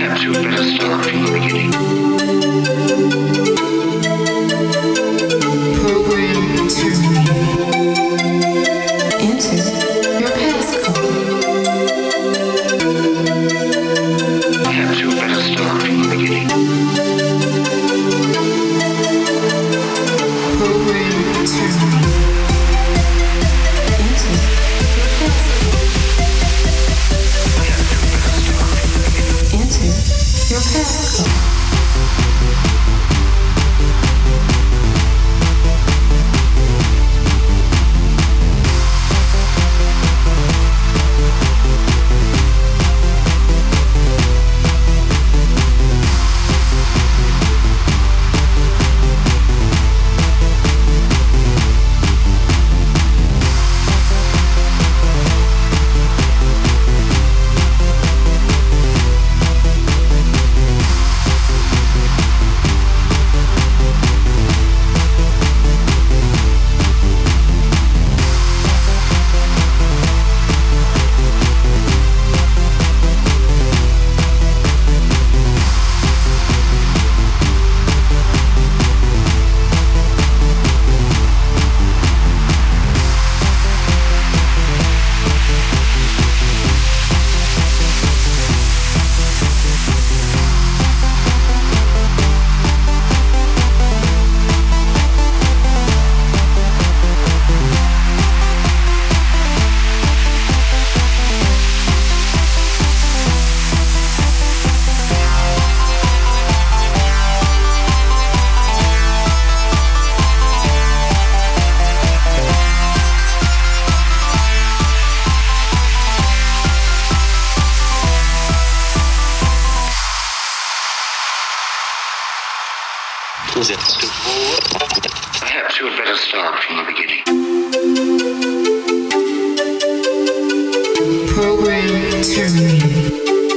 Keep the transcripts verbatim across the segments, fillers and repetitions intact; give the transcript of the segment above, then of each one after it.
Perhaps you had better start from the beginning. Program terminated. Enter your passcode. Perhaps you had better start from the beginning. Program terminated. Enter your passcode. Perhaps you had better start from the beginning. Enter your passcode. Perhaps you had better start from the beginning. Program terminated.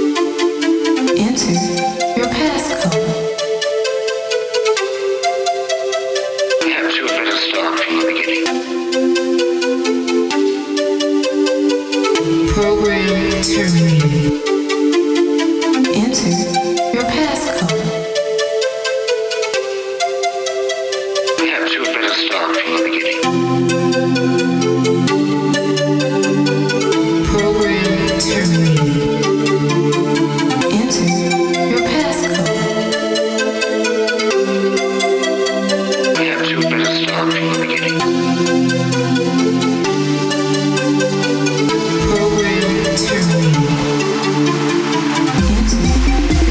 Enter your passcode. Perhaps you had better start from the beginning. Program terminated. Enter your passcode. Perhaps you had better start from the beginning. Program terminated. Enter your passcode. Perhaps you had better start from the beginning. Program terminated. Enter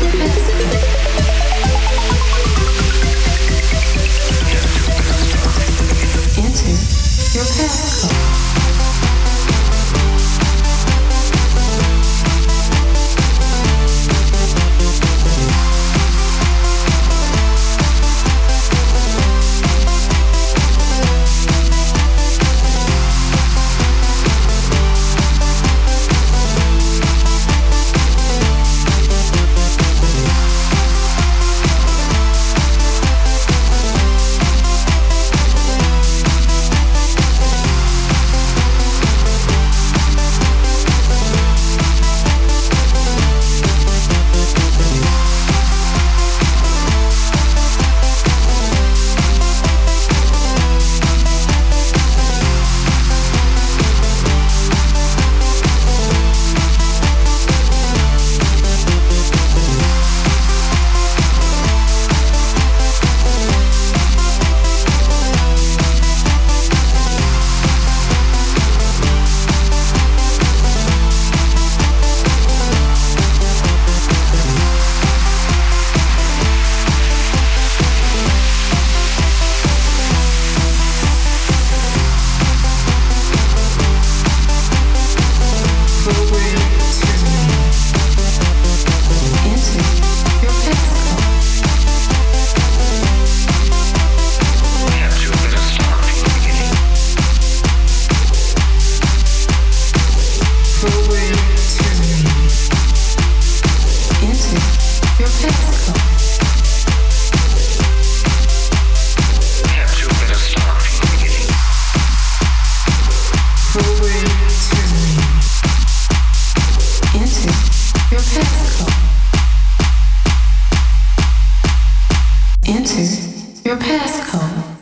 Enter your passcode.